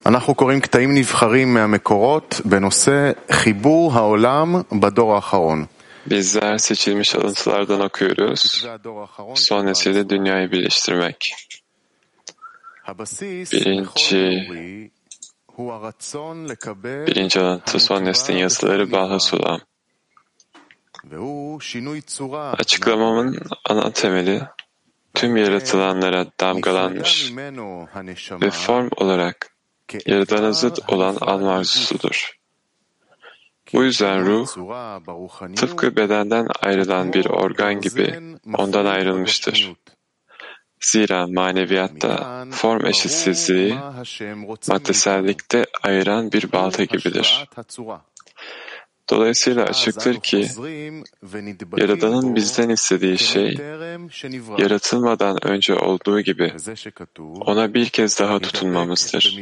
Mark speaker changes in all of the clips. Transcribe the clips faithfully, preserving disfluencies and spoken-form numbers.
Speaker 1: אנחנו קוראים קטעים נבחרים מהמקורות בנושא חיבור העולם בדור האחרון.
Speaker 2: Bizler seçilmiş alıntılardan okuyoruz. Son nesilde dünyayı birleştirmek. Birinci, birinci alıntı son neslin yazıları Baha'Sulam. Açıklamamın ana temeli tüm yaratılanlara damgalanmış ve form olarak Yaradan'a zıt olan alma arzusudur. Bu yüzden ruh, tıpkı bedenden ayrılan bir organ gibi ondan ayrılmıştır. Zira maneviyatta form eşitsizliği, maddesellikte ayıran bir balta gibidir. Dolayısıyla açıktır ki, Yaradan'ın bizden istediği şey, yaratılmadan önce olduğu gibi ona bir kez daha tutunmamızdır.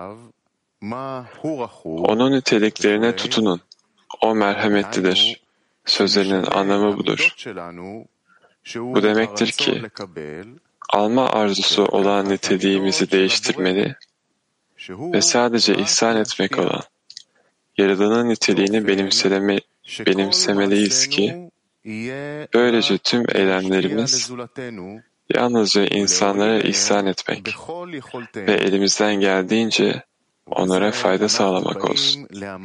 Speaker 2: Onun niteliklerine tutunun. O merhametlidir. Sözlerinin anlamı budur. Bu demektir ki, alma arzusu olan niteliğimizi değiştirmeli ve sadece ihsan etmek olan Yaradan'ın niteliğini benimseleme, benimsemeliyiz ki, böylece tüm eylemlerimiz yalnızca insanlara ihsan etmek ve elimizden geldiğince onlara fayda sağlamak olsun.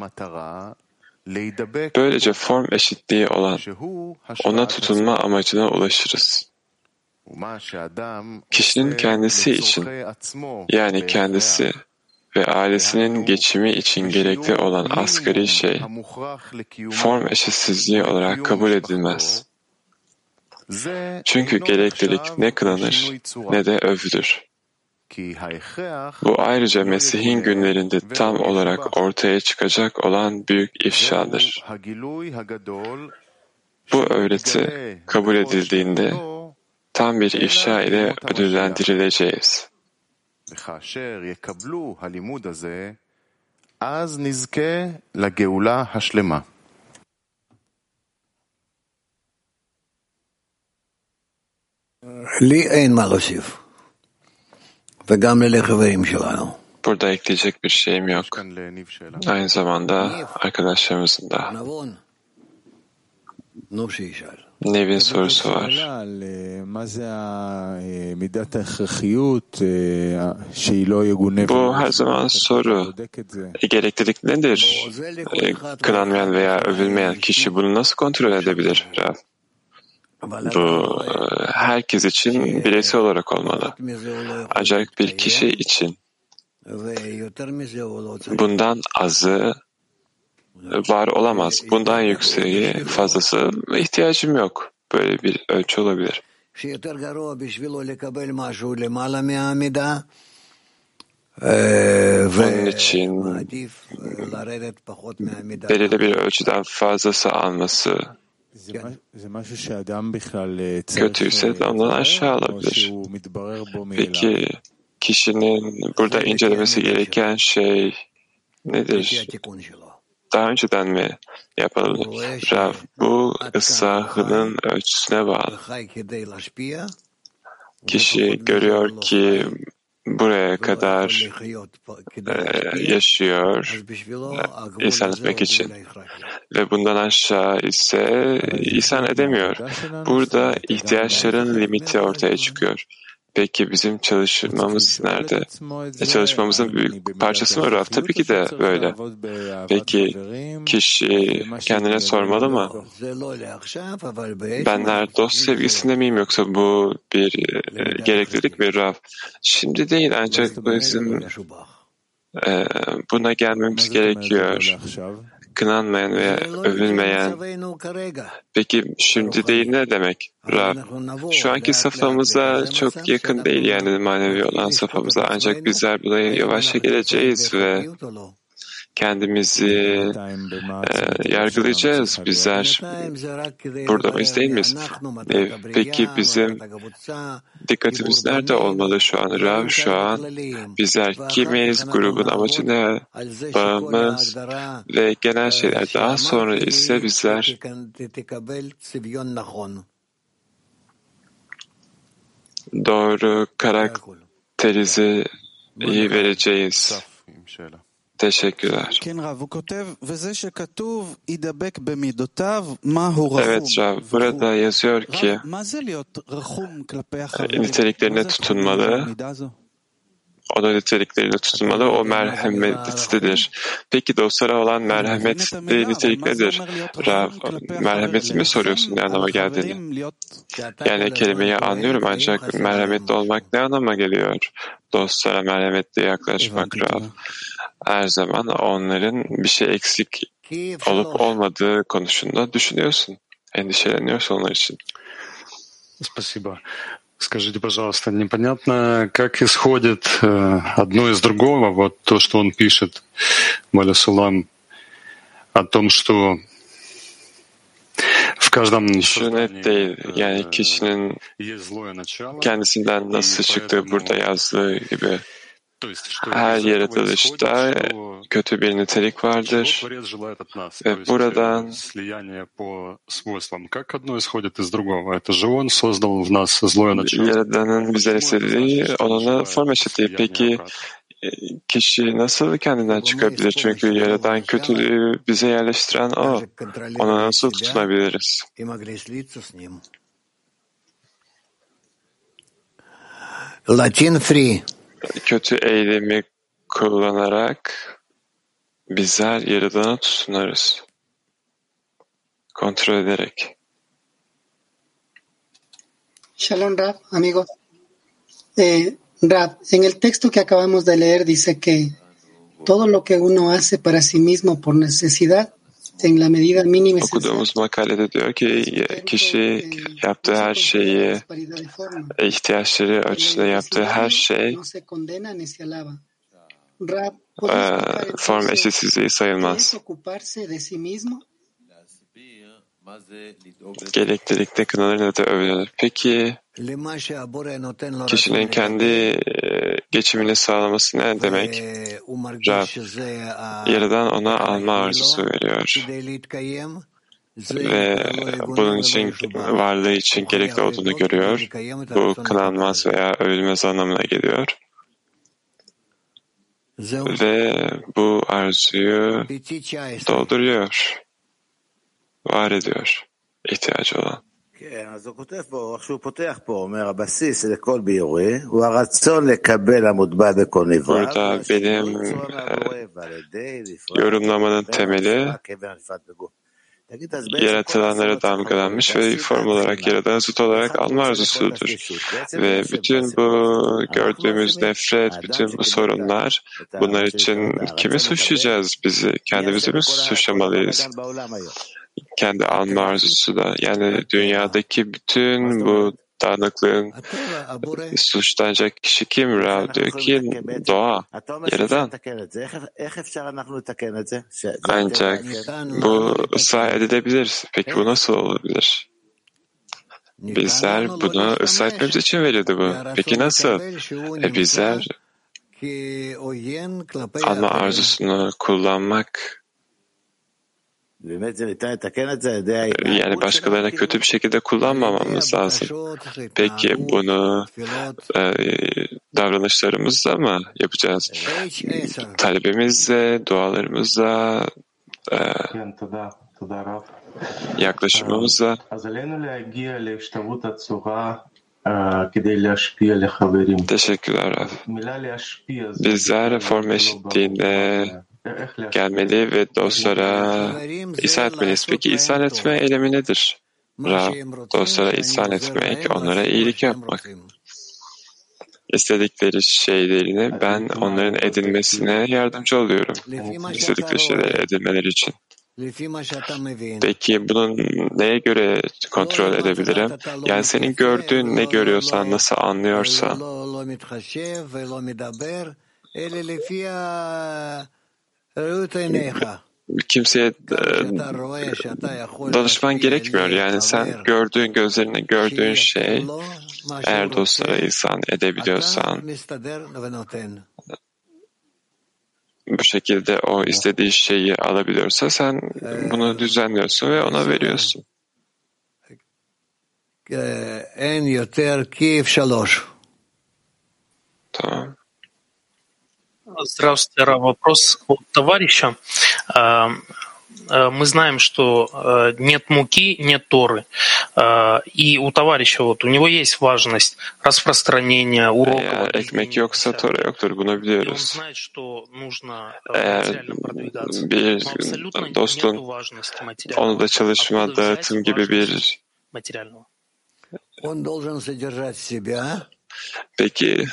Speaker 2: Böylece form eşitliği olan ona tutunma amacına ulaşırız. Kişinin kendisi için, yani kendisi ve ailesinin geçimi için gerekli olan asgari şey, form eşitsizliği olarak kabul edilmez. Çünkü gereklilik ne kınanır ne de övülür. Bu ayrıca Mesih'in günlerinde tam olarak ortaya çıkacak olan büyük ifşadır. Bu öğreti kabul edildiğinde tam bir ifşa ile ödüllendirileceğiz.
Speaker 1: וכאשר יקבלו הלימוד הזה, אז נזכה לגאולה השלמה.
Speaker 3: לי אין מה להוסיף, וגם לחברים שלנו.
Speaker 2: Burada ekleyecek bir şeyim yok. Aynı zamanda arkadaşlarımızın da. Nev'in sorusu var. Bu her zaman soru. E, gereklilik nedir? E, kınanmayan veya övülmeyen kişi bunu nasıl kontrol edebilir? Rav? Bu e, herkes için bireysel olarak olmalı. Ancak bir kişi için bundan azı var olamaz. Bundan yükseği, fazlası ihtiyacım yok. Böyle bir ölçü olabilir. Onun için belirli bir ölçüden fazlası alması kötüyse de ondan aşağı alabilir. Peki kişinin burada incelemesi gereken şey nedir? Daha önceden mi yapılır? Rav, bu ıslahının ölçüsüne bağlı. Kişi görüyor ki buraya kadar e, yaşıyor e, ihsan etmek için ve bundan aşağı ise ihsan edemiyor. Burada ihtiyaçların limiti ortaya çıkıyor. Peki bizim çalışmamız nerede? E çalışmamızın büyük parçası mı Rav? Tabii ki de böyle. Peki kişi kendine sormalı mı? Benler dost sevgisinde miyim yoksa bu bir e, gereklilik mi Rav? Şimdi değil ancak bizim e, buna gelmemiz gerekiyor. Kınanmayan veya övülmeyen. Peki şimdi değil ne demek? Rav, şu anki safhamıza çok yakın değil yani manevi olan safhamıza. Ancak bizler buraya yavaşça geleceğiz ve kendimizi e, yargılayacağız. Bizler burada mıyız değil miyiz? E, peki bizim dikkatimiz nerede olmalı şu an? Rav, şu an bizler kimiz, grubun amacı ne, bağımız ve genel şeyler. Daha sonra ise bizler doğru karakterizi iyi vereceğiz. Teşekkürler. Evet Rav, burada yazıyor ki niteliklerine tutunmalı, o da nitelikleriyle tutunmalı, o merhametlidir. Peki dostlara olan merhametli nitelik nedir? Rav, merhameti mi soruyorsun, ne anlama geldiğini? Yani kelimeyi anlıyorum ancak merhametli olmak ne anlama geliyor? Dostlara merhametli yaklaşmak Rav. Her zaman onların bir şey eksik olup olmadığı konusunda düşünüyorsun, endişeleniyorsun onlar için.
Speaker 4: Спасибо. Скажите, пожалуйста, непонятно, как исходит э, одно из другого, вот то, что он пишет, Маля Сулам, о том, что в каждом
Speaker 2: Şu net değil, yani kişinin kendisinden nasıl çıktığı burada yazdığı gibi. Her yaratılışta kötü bir nitelik vardır ve buradan Yaradan'ın bizden istediği onunla form eşitliği. Peki kişi nasıl kendinden çıkabilir? Çünkü Yaradan kötülüğü bize yerleştiren o. Ona nasıl tutunabiliriz?
Speaker 3: Latin free.
Speaker 2: Kötü eylemi kullanarak bizler Yaradan'a tutunarız. Kontrol ederek.
Speaker 5: Shalom Rav, amigos. Eh, Rav, en el texto que acabamos de leer dice que todo lo que uno hace para sí mismo por necesidad, en la medida mínima esencial.
Speaker 2: Okuduğumuz makalede diyor ki kişi yaptığı her şeyi, ihtiyaçları açısından yaptığı her şey e, form eşitsizliği sayılmaz. Gereklilikte kınanır ne de övünür. Peki kişinin kendi geçimini sağlaması ne demek? Rab, Yaradan ona alma arzusu veriyor. Ve bunun için, varlığı için gerekli olduğunu görüyor. Bu kınanmaz veya övülmez anlamına geliyor. Ve bu arzuyu dolduruyor. Var ediyor ihtiyacı olan.
Speaker 6: אז הוא כותב פה, איך שהוא פותח פה, אומר, הבסיס לכל ביורי הוא הרצון לקבל המוטבע בכל נברא.
Speaker 2: Burada benim yorumlamanın temeli yaratılanlara damgalanmış ve form olarak yaradan zıt olarak alma arzusudur. Ve bütün bu gördüğümüz nefret, bütün bu sorunlar, bunlar için kimi suçlayacağız bizi? Kendimizi mi suçlamalıyız? Kendi alma arzusu da. Yani dünyadaki bütün bu dağınıklığın suçlanacak kişi kim? Rav diyor ki doğa, Yaradan. Ancak bu ıslah edilebilir. Peki bu nasıl olabilir? Bizler bunu ıslah etmemiz için verildi bu. Peki nasıl? E bizler alma arzusunu kullanmak, yani başkalarına kötü bir şekilde kullanmamamız lazım. Peki bunu e, davranışlarımızla mı yapacağız? Talebimizle, dualarımızla, e, yaklaşımımızla. Teşekkürler Rav. Bizler form eşitliğine gelmeli ve dostlara ihsan etmeliyiz. Peki ihsan etme eylemi nedir? Rav, dostlara ihsan etmek, onlara iyilik yapmak. İstedikleri şeylerini ben onların edinmesine yardımcı oluyorum. İstedikleri şeyleri edinmeleri için. Peki bunu neye göre kontrol edebilirim? Yani senin gördüğün ne görüyorsan, nasıl anlıyorsan. Kimseye e, danışman gerekmiyor. Yani sen gördüğün, gözlerine gördüğün şey, eğer dostlara ihsan edebiliyorsan, bu şekilde o istediği şeyi alabiliyorsa sen bunu düzenliyorsun ve ona veriyorsun. Tamam.
Speaker 7: Здравствуйте, Рав. Вопрос от товарища. Мы знаем, что нет муки, нет Торы. И у товарища вот у него есть важность распространения уроков.
Speaker 2: Eğer ekmek yoksa Tora yoktur, bunu biliyoruz. Eğer bir dostun onu da çalışma, dağıtım gibi bir peki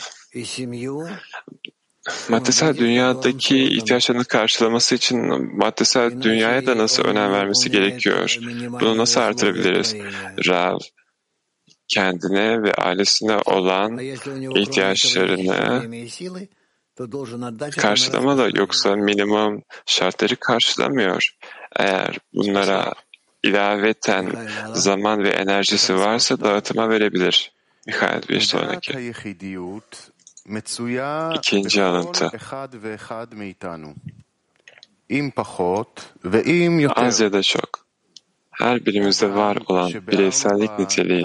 Speaker 2: maddesel dünyadaki ihtiyaçlarını karşılaması için maddesel dünyaya da nasıl önem vermesi gerekiyor? Bunu nasıl artırabiliriz? Rav, kendine ve ailesine olan ihtiyaçlarını karşılamalı, yoksa minimum şartları karşılamıyor. Eğer bunlara ilaveten zaman ve enerjisi varsa dağıtıma verebilir. Mihail, bir sonraki. İkinci alıntı. Az ya da çok, her birimizde var olan bireysellik niteliği,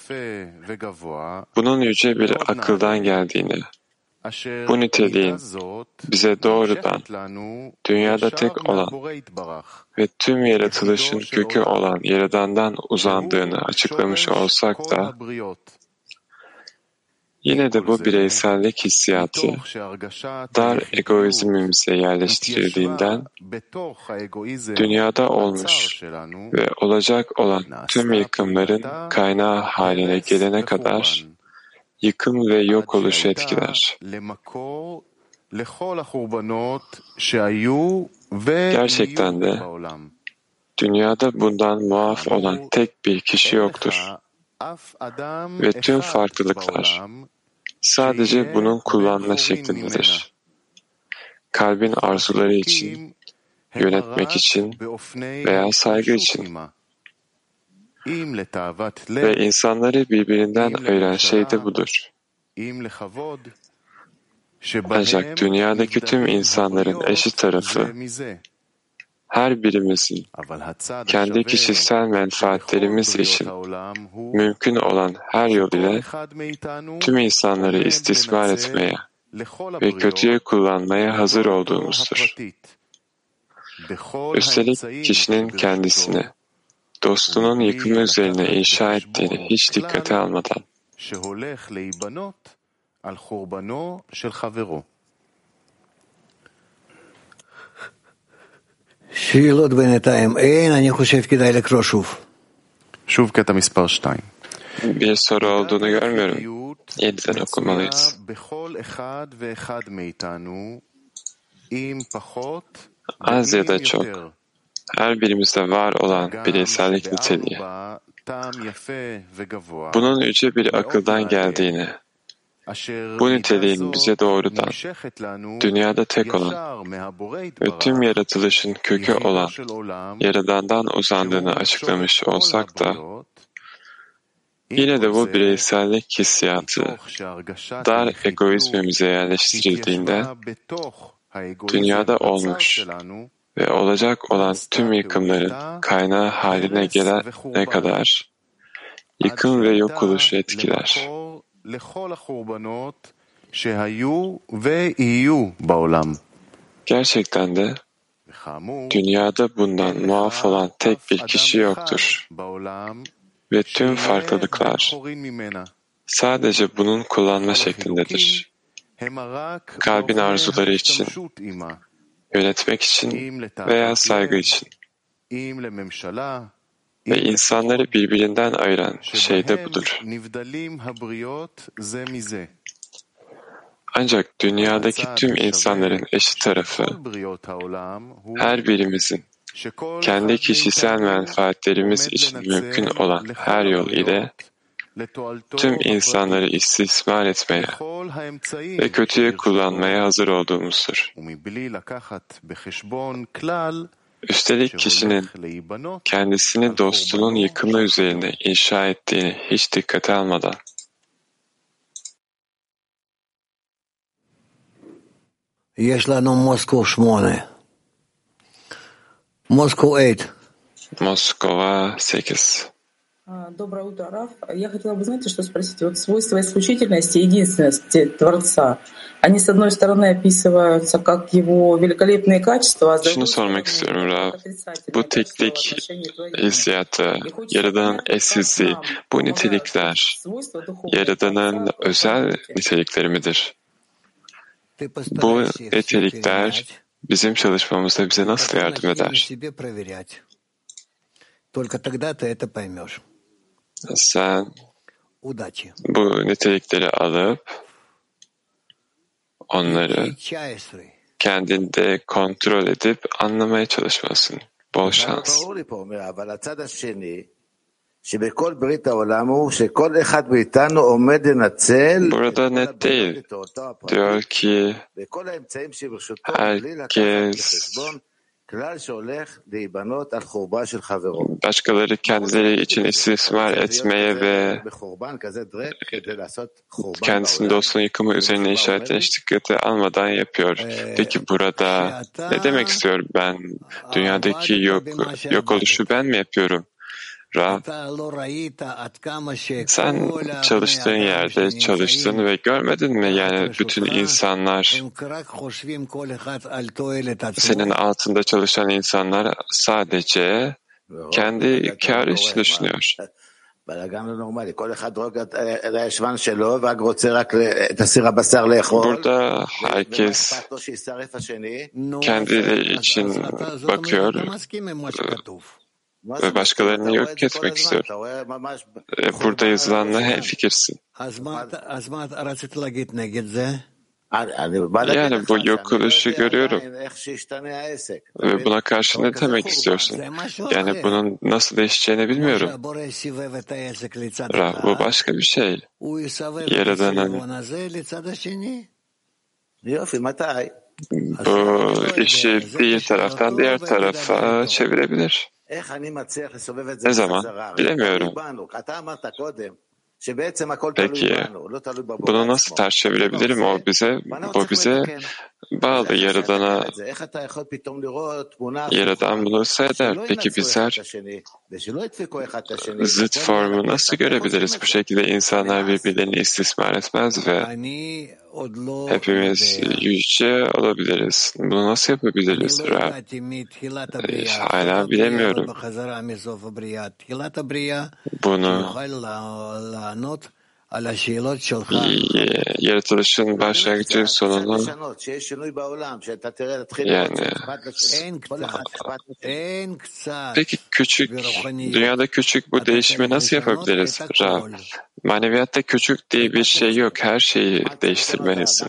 Speaker 2: bunun yüce bir akıldan geldiğini, bu niteliğin bize doğrudan dünyada tek olan ve tüm yaratılışın kökü olan Yaradan'dan uzandığını açıklamış olsak da, yine de bu bireysellik hissiyatı dar egoizmimize yerleştirildiğinden dünyada olmuş ve olacak olan tüm yıkımların kaynağı haline gelene kadar yıkım ve yok oluşu etkiler. Gerçekten de dünyada bundan muaf olan tek bir kişi yoktur. Ve tüm farklılıklar sadece bunun kullanma şeklindedir. Kalbin arzuları için, yönetmek için veya saygı için. Ve insanları birbirinden ayıran şey de budur. Ancak dünyadaki tüm insanların eşit tarafı, her birimizin kendi kişisel menfaatlerimiz için mümkün olan her yol ile tüm insanları istismar etmeye ve kötüye kullanmaya hazır olduğumuzdur. Üstelik kişinin kendisini dostunun yıkımı üzerine inşa ettiğini hiç dikkate almadan
Speaker 3: שאלות בינתיים אין, אני חושב כדאי לקרוא שוב.
Speaker 1: שוב קטע מספר שתיים.
Speaker 2: Bir soru olduğunu görmüyorum. Yeniden okumalıyız. Az ya da çok, her birimizde var olan bireysellik niteliği, bunun yüce bir akıldan geldiğini, bu niteliğin bize doğrudan dünyada tek olan ve tüm yaratılışın kökü olan Yaradan'dan uzandığını açıklamış olsak da, yine de bu bireysellik hissiyatı dar egoizmimize yerleştirildiğinde dünyada olmuş ve olacak olan tüm yıkımların kaynağı haline gelene kadar yıkım ve yok oluşu etkiler. Gerçekten de dünyada bundan muaf olan tek bir kişi yoktur. Ve tüm farklılıklar sadece bunun kullanma şeklindedir. Kalbin arzuları için, yönetmek için veya saygı için. Ve insanları birbirinden ayıran şey de budur. Ancak dünyadaki tüm insanların eşit tarafı, her birimizin kendi kişisel menfaatlerimiz için mümkün olan her yol ile tüm insanları istismar etmeye ve kötüye kullanmaya hazır olduğumuzdur. Üstelik kişinin kendisini dostunun yıkımı üzerine inşa ettiğini hiç dikkate almadan,
Speaker 3: יש לנו מוסקו שמונה. מוסקו eight.
Speaker 2: Moskova sekiz.
Speaker 8: Доброе утро, Раф. Я хотела бы, знаете, что спросить? Вот свойства исключительности и единственности Творца, они, с одной стороны, описываются как его великолепные качества, а с
Speaker 2: Şunu
Speaker 8: другой
Speaker 2: sormak
Speaker 8: стороны,
Speaker 2: istiyorum Rav.
Speaker 8: как otrицательные
Speaker 2: Bu
Speaker 8: качества в
Speaker 2: teklik
Speaker 8: отношении творения.
Speaker 2: hissiyatı,
Speaker 8: И хочется
Speaker 2: Yaradan'ın
Speaker 8: понять, как
Speaker 2: eşsizliği,
Speaker 8: нам
Speaker 2: bu
Speaker 8: помогают
Speaker 2: nitelikler
Speaker 8: свойства духовного
Speaker 2: Yaradan'ın
Speaker 8: Творца в
Speaker 2: özel
Speaker 8: работе.
Speaker 2: nitelikleri midir?
Speaker 3: Ты
Speaker 2: Bu
Speaker 3: постарайся их все
Speaker 2: nitelikler
Speaker 3: перенять,
Speaker 2: bizim çalışmamızda bize nasıl
Speaker 3: потом
Speaker 2: yardım
Speaker 3: начни на
Speaker 2: eder?
Speaker 3: себе проверять. Только тогда ты это поймешь.
Speaker 2: Sen
Speaker 3: Удачи.
Speaker 2: bu nitelikleri alıp onları
Speaker 3: Чайсры.
Speaker 2: kendinde kontrol edip anlamaya çalışmalısın. Bol şans.
Speaker 6: ברור לי פה, אומר, אבל הצד השני, שבכל ברית העולם הוא שכל אחד מאיתנו עומד לנצל את
Speaker 2: Burada
Speaker 6: כל
Speaker 2: net
Speaker 6: הבנות
Speaker 2: değil.
Speaker 6: לתועלתו הפרטית
Speaker 2: Diyor ki
Speaker 6: וכל האמצעים שברשותו בלי לקחת
Speaker 2: herkes
Speaker 6: בחשבון כלל שהולך להיבנות על חורבה של חברו.
Speaker 2: başkaları kendileri için istismar etmeye ve
Speaker 6: בחורבן כזה דרק כדי לעשות חורבן
Speaker 2: kendisinin
Speaker 6: בעולם.
Speaker 2: dostluğun yıkımı üzerine işaretine hiç dikkate almadan yapıyor. Peki burada ne demek istiyor? Ben dünyadaki yok, yok oluşu ben mi yapıyorum? Rav, sen çalıştığın yerde çalıştın ve görmedin mi? Yani bütün insanlar, senin altında çalışan insanlar sadece kendi kârı için düşünüyor.
Speaker 6: בלגן לא נורמלי, כל אחד רואה את הישבן שלו ורק רוצה רק את הסיר הבשר לאכול.
Speaker 2: Burada herkes
Speaker 6: ואכפת לו שישרף השני.
Speaker 2: kendileri için bakıyor ve başkalarını yok etmek istiyor. E, Burada yazılanla hemfikirsin. Yani bu yok oluşu görüyorum. Ve buna karşı ne demek istiyorsun? Yani bunun nasıl değişeceğini bilmiyorum. Rav, bu başka bir şey. Yaradan'ın bu işi bir taraftan diğer tarafa çevirebilir. Ne zaman? Bilemiyorum. Peki, bunu nasıl ters çevirebilirim? O bize, bu bize bağlı. Yaradana, Yaradan bunu seyreder. Peki bizler zıt formu nasıl görebiliriz? Bu şekilde insanlar birbirlerini istismar etmez ve hepimiz yüce olabiliriz. Bunu nasıl yapabiliriz? E, hala bilemiyorum. Bunu yaratılışın başlangıcı sonunu yani peki küçük dünyada küçük bu değişimi nasıl yapabiliriz? Rav, maneviyatta küçük diye bir şey yok. Her şeyi değiştirmelisin.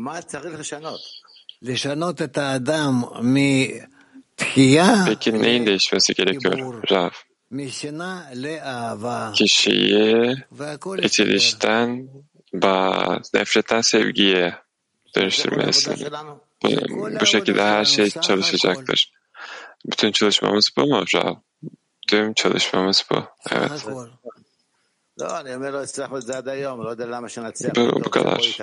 Speaker 2: Peki neyin değişmesi gerekiyor? Rav, kişiyi itilişten, bağ, nefretten sevgiye dönüştürmelisin. Bu, bu şekilde her şey çalışacaktır. Bütün çalışmamız bu mu Rav? Tüm çalışmamız bu. Evet. Bu, bu kadar.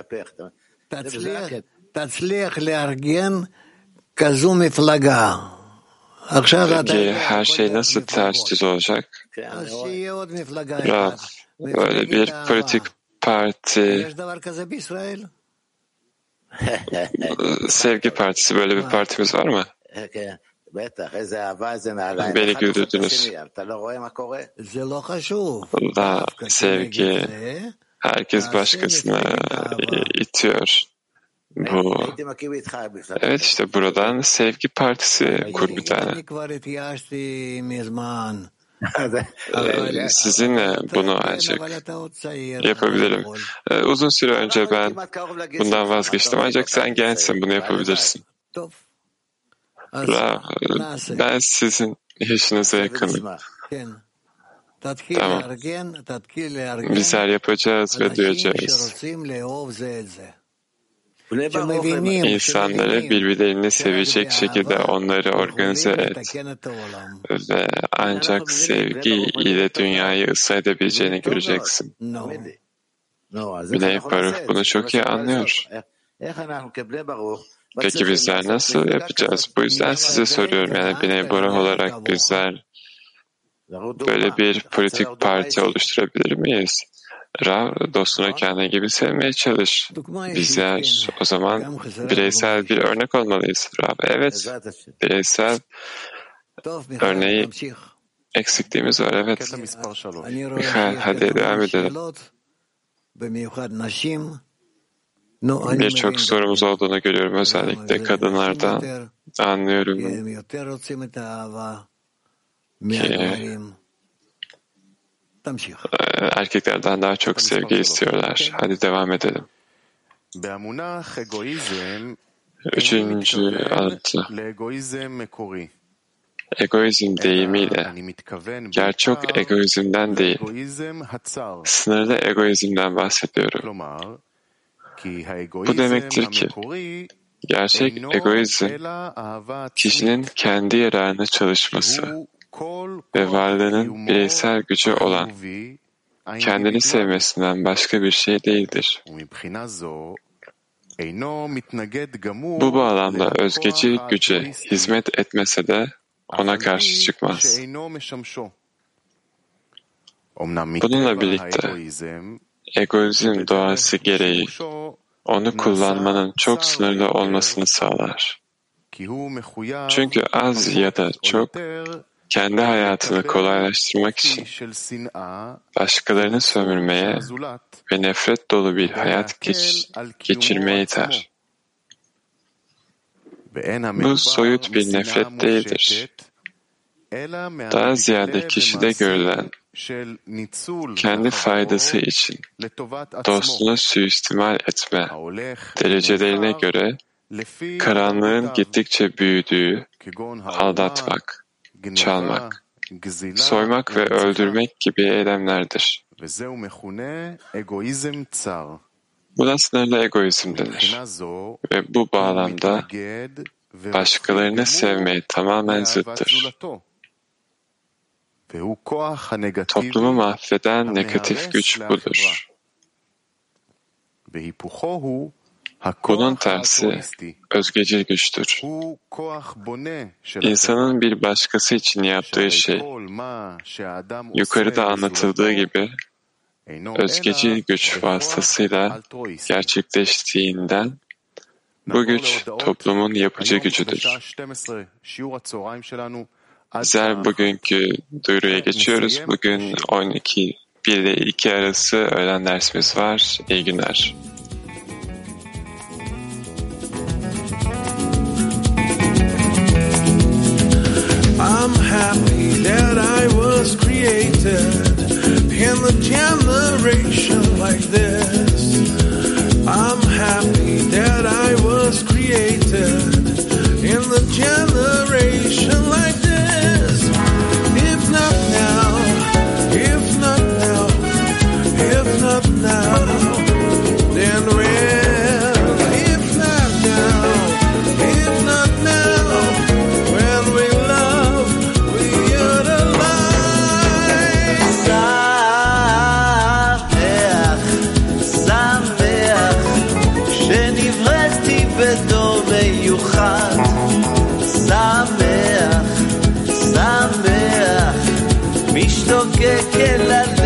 Speaker 2: Peki her şey nasıl ters düz olacak? Rav, böyle bir politik parti, Sevgi Partisi, böyle bir partimiz var mı? Beni güldürdünüz. Allah, sevgi, herkes başkasına itiyor. Bu, evet işte buradan Sevgi Partisi kur bir tane. Sizinle bunu ancak yapabilirim. Uzun süre önce ben bundan vazgeçtim ancak sen gençsin, bunu yapabilirsin. Rav, ben sizin yaşınıza yakınım. Tamam. Bizler yapacağız ve duyacağız. İnsanları birbirlerini sevecek şekilde onları organize et ve ancak sevgi ile dünyayı ıslah edebileceğini göreceksin. Bnei Baruch bunu çok iyi anlıyor. Peki bizler nasıl yapacağız? Bu yüzden size soruyorum, yani Bnei Baruch olarak bizler böyle bir politik parti oluşturabilir miyiz? Rav, dostuna kendi gibi sevmeye çalış. Bizler o zaman bireysel bir örnek olmalıyız. Rav, evet, bireysel örneği eksikliğimiz var, evet. Michael, hadi devam edelim. Birçok sorumuz olduğunu görüyorum, özellikle kadınlardan. Anlıyorum ki erkeklerden daha çok sevgi istiyorlar. Hadi devam ededim. Üçüncü alıntı. Egoizm deyimiyle gerçek egoizmden değil, sınırlı egoizmden bahsediyorum. Bu demektir ki gerçek egoizm kişinin kendi yararına çalışması ve varlığının bireysel gücü olan kendini sevmesinden başka bir şey değildir. Bu bağlamda özgeci güce hizmet etmese de ona karşı çıkmaz. Bununla birlikte egoizm doğası gereği onu kullanmanın çok sınırlı olmasını sağlar. Çünkü az ya da çok kendi hayatını kolaylaştırmak için başkalarını sömürmeye ve nefret dolu bir hayat geç, geçirmeye iter. Bu soyut bir nefret değildir. Daha ziyade kişide görülen kendi faydası için dostunu suistimal etme derecelerine göre karanlığın gittikçe büyüdüğü aldatmak, çalmak, soymak ve öldürmek gibi eylemlerdir. Buna sınırlı egoizm denir ve bu bağlamda başkalarını sevmeye tamamen zıttır. Toplumu mahveden negatif güç budur. Bunun tersi özgecil güçtür. İnsanın bir başkası için yaptığı şey, yukarıda anlatıldığı gibi özgecil güç vasıtasıyla gerçekleştiğinden bu güç toplumun yapıcı gücüdür. Bizler bugünkü duyuruya geçiyoruz. Bugün on iki bir ile iki arası öğlen dersimiz var. İyi günler.
Speaker 9: I'm happy that I was created in the generation like this. I'm happy that I was created in the generation like this. If not now, if not now, if not now, then when? If not now, if not now, when we love, we utilize. Sameach, Sameach, שנבראתי בתור מיוחד. שמח, שמח, משתוקק אל הלב.